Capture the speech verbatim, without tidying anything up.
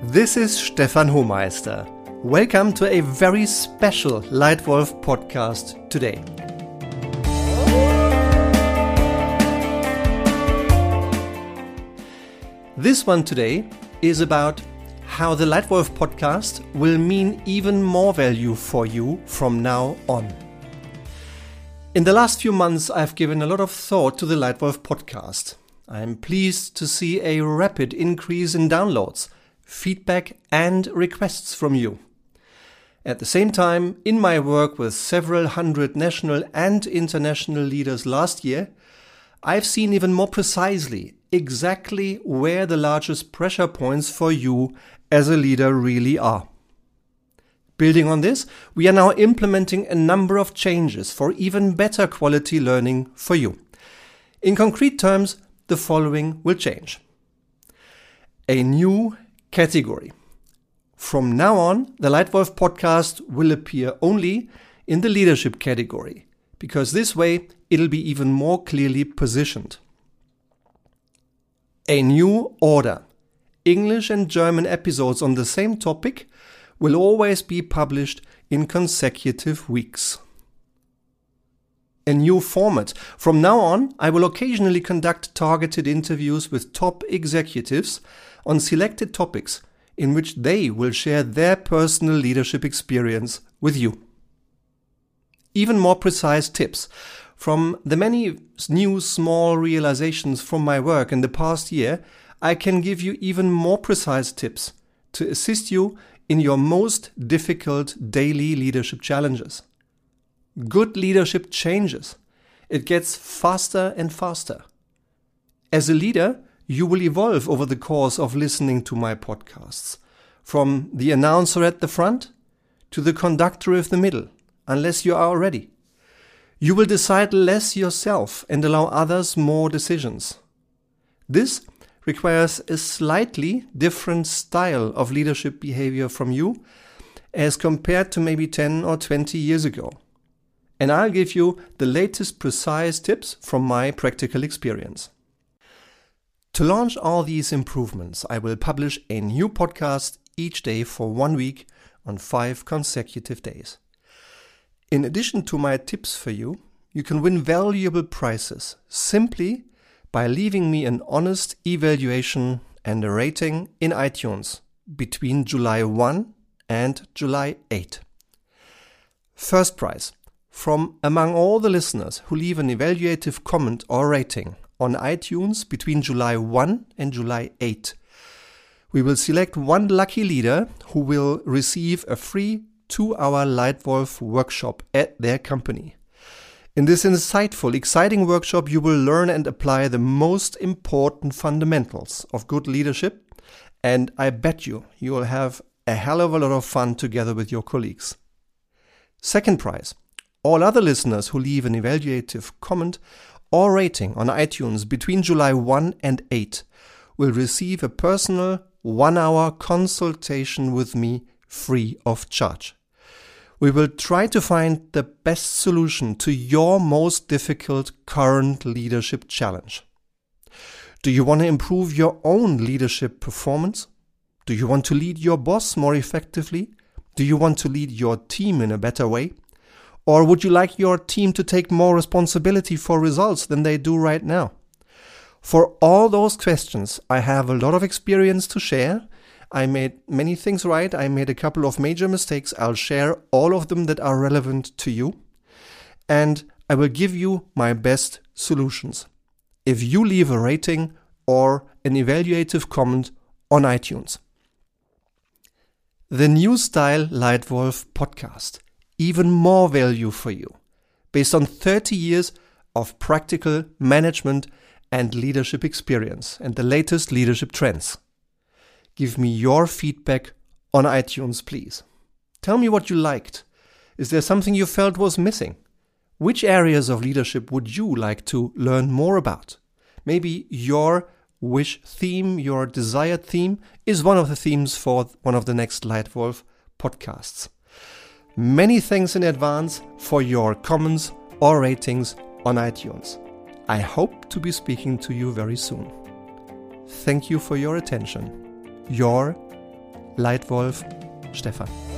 This is Stefan Hohmeister. Welcome to a very special Leitwolf podcast today. This one today is about how the Leitwolf podcast will mean even more value for you from now on. In the last few months, I've given a lot of thought to the Leitwolf podcast. I'm pleased to see a rapid increase in downloads, feedback and requests from you. At the same time, in my work with several hundred national and international leaders last year, I've seen even more precisely exactly where the largest pressure points for you as a leader really are. Building on this, we are now implementing a number of changes for even better quality learning for you. In concrete terms, the following will change. A new category. From now on, the Leitwolf podcast will appear only in the leadership category, because this way it'll be even more clearly positioned. A new order. English and German episodes on the same topic will always be published in consecutive weeks. A new format. From now on, I will occasionally conduct targeted interviews with top executives on selected topics in which they will share their personal leadership experience with you. Even more precise tips. From the many new small realizations from my work in the past year, I can give you even more precise tips to assist you in your most difficult daily leadership challenges. Good leadership changes. It gets faster and faster. As a leader, you will evolve over the course of listening to my podcasts, from the announcer at the front to the conductor of the middle, unless you are ready. You will decide less yourself and allow others more decisions. This requires a slightly different style of leadership behavior from you as compared to maybe ten or twenty years ago. And I'll give you the latest precise tips from my practical experience. To launch all these improvements, I will publish a new podcast each day for one week on five consecutive days. In addition to my tips for you, you can win valuable prizes simply by leaving me an honest evaluation and a rating in iTunes between July first and July eighth. First prize. From among all the listeners who leave an evaluative comment or rating on iTunes between July first and July eighth, we will select one lucky leader who will receive a free two-hour Leitwolf workshop at their company. In this insightful, exciting workshop, you will learn and apply the most important fundamentals of good leadership, and I bet you you will have a hell of a lot of fun together with your colleagues. Second prize. All other listeners who leave an evaluative comment or rating on iTunes between July first and eighth will receive a personal one-hour consultation with me free of charge. We will try to find the best solution to your most difficult current leadership challenge. Do you want to improve your own leadership performance? Do you want to lead your boss more effectively? Do you want to lead your team in a better way? Or would you like your team to take more responsibility for results than they do right now? For all those questions, I have a lot of experience to share. I made many things right. I made a couple of major mistakes. I'll share all of them that are relevant to you. And I will give you my best solutions if you leave a rating or an evaluative comment on iTunes. The New Style Leitwolf podcast. Even more value for you, based on thirty years of practical management and leadership experience and the latest leadership trends. Give me your feedback on iTunes, please. Tell me what you liked. Is there something you felt was missing? Which areas of leadership would you like to learn more about? Maybe your wish theme, your desired theme, is one of the themes for one of the next Leitwolf podcasts. Many thanks in advance for your comments or ratings on iTunes. I hope to be speaking to you very soon. Thank you for your attention. Your Leitwolf Stefan.